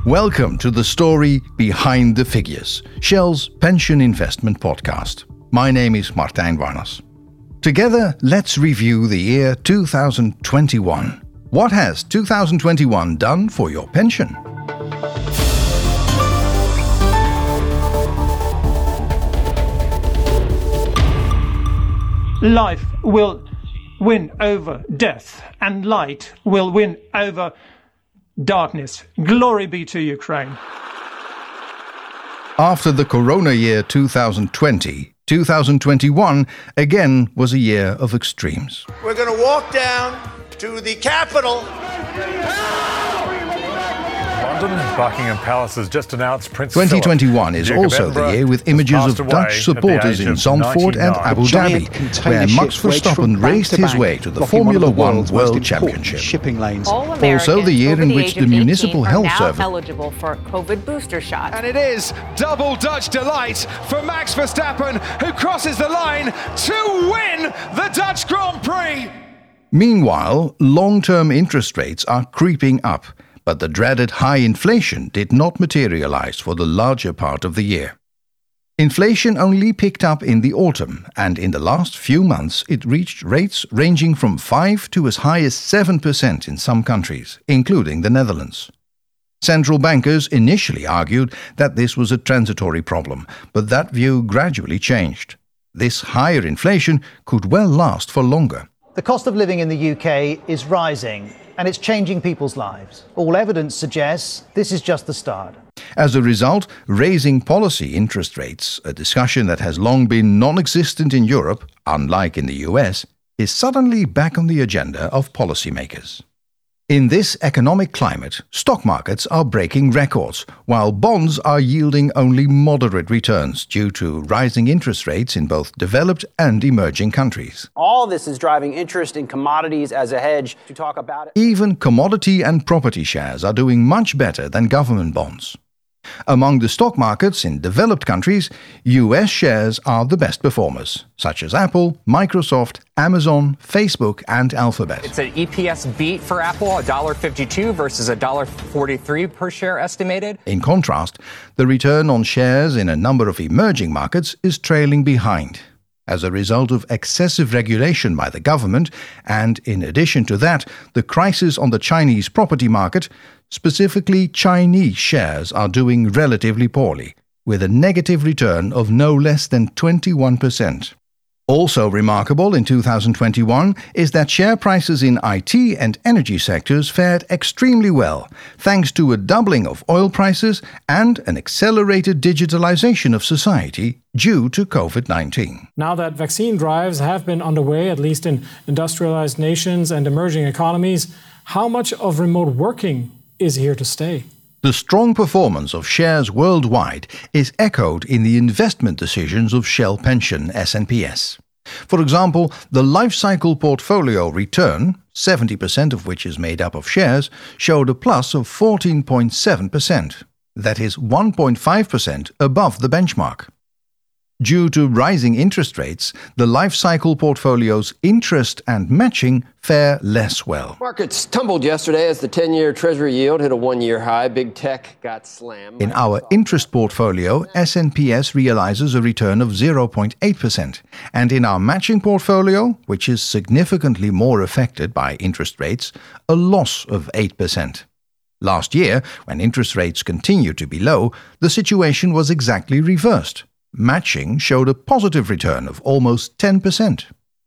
Welcome to the story behind the figures, Shell's pension investment podcast. My name is Martijn Warners. Together, let's review the year 2021. What has 2021 done for your pension? Life will win over death, and light will win over darkness. Glory be to Ukraine. After the corona year 2020, 2021 again was a year of extremes. We're going to walk down to the Capitol. London, Buckingham Palace has just announced Prince 2021 is Philip, also the year with images of Dutch supporters in Zandvoort and Abu Dhabi, where Max Verstappen raced his way to the Formula One World Championship. Shipping lanes. Also the year in which the Municipal Health Service eligible for COVID booster shots. And it is double Dutch delight for Max Verstappen, who crosses the line to win the Dutch Grand Prix. Meanwhile, long-term interest rates are creeping up, but the dreaded high inflation did not materialize for the larger part of the year. Inflation only picked up in the autumn, and in the last few months it reached rates ranging from 5 to as high as 7% in some countries, including the Netherlands. Central bankers initially argued that this was a transitory problem, but that view gradually changed. This higher inflation could well last for longer. The cost of living in the UK is rising, and it's changing people's lives. All evidence suggests this is just the start. As a result, raising policy interest rates, a discussion that has long been non-existent in Europe, unlike in the US, is suddenly back on the agenda of policymakers. In this economic climate, stock markets are breaking records, while bonds are yielding only moderate returns due to rising interest rates in both developed and emerging countries. All this is driving interest in commodities as a hedge. To talk about it, even commodity and property shares are doing much better than government bonds. Among the stock markets in developed countries, US shares are the best performers, such as Apple, Microsoft, Amazon, Facebook, and Alphabet. It's an EPS beat for Apple, $1.52 versus $1.43 per share estimated. In contrast, the return on shares in a number of emerging markets is trailing behind, as a result of excessive regulation by the government, and in addition to that, the crisis on the Chinese property market. Specifically, Chinese shares are doing relatively poorly, with a negative return of no less than 21%. Also remarkable in 2021 is that share prices in IT and energy sectors fared extremely well, thanks to a doubling of oil prices and an accelerated digitalization of society due to COVID-19. Now that vaccine drives have been underway, at least in industrialized nations and emerging economies, how much of remote working is here to stay? The strong performance of shares worldwide is echoed in the investment decisions of Shell Pension SNPS. For example, the life cycle portfolio return, 70% of which is made up of shares, showed a plus of 14.7%. That is 1.5% above the benchmark. Due to rising interest rates, the life cycle portfolio's interest and matching fare less well. Markets tumbled yesterday as the 10-year Treasury yield hit a one-year high. Big tech got slammed. In our interest portfolio, SNPS realizes a return of 0.8%. And in our matching portfolio, which is significantly more affected by interest rates, a loss of 8%. Last year, when interest rates continued to be low, the situation was exactly reversed. Matching showed a positive return of almost 10%.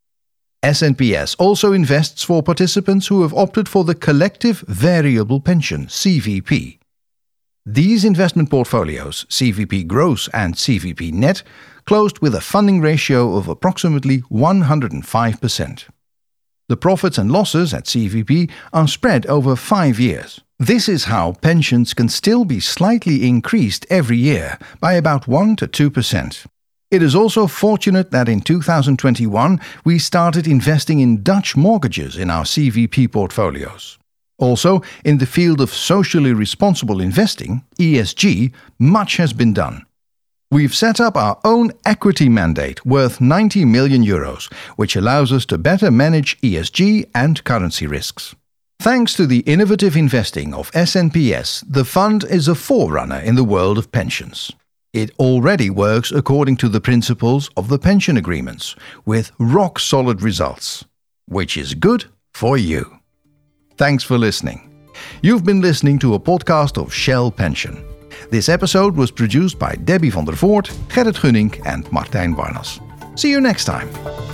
SNPS also invests for participants who have opted for the Collective Variable Pension, CVP. These investment portfolios, CVP Gross and CVP Net, closed with a funding ratio of approximately 105%. The profits and losses at CVP are spread over 5 years. This is how pensions can still be slightly increased every year by about 1 to 2%. It is also fortunate that in 2021 we started investing in Dutch mortgages in our CVP portfolios. Also, in the field of socially responsible investing, ESG, much has been done. We've set up our own equity mandate worth €90 million, which allows us to better manage ESG and currency risks. Thanks to the innovative investing of SNPS, the fund is a forerunner in the world of pensions. It already works according to the principles of the pension agreements, with rock-solid results, which is good for you. Thanks for listening. You've been listening to a podcast of Shell Pension. This episode was produced by Debbie van der Voort, Gerrit Gunning and Martijn Warnas. See you next time.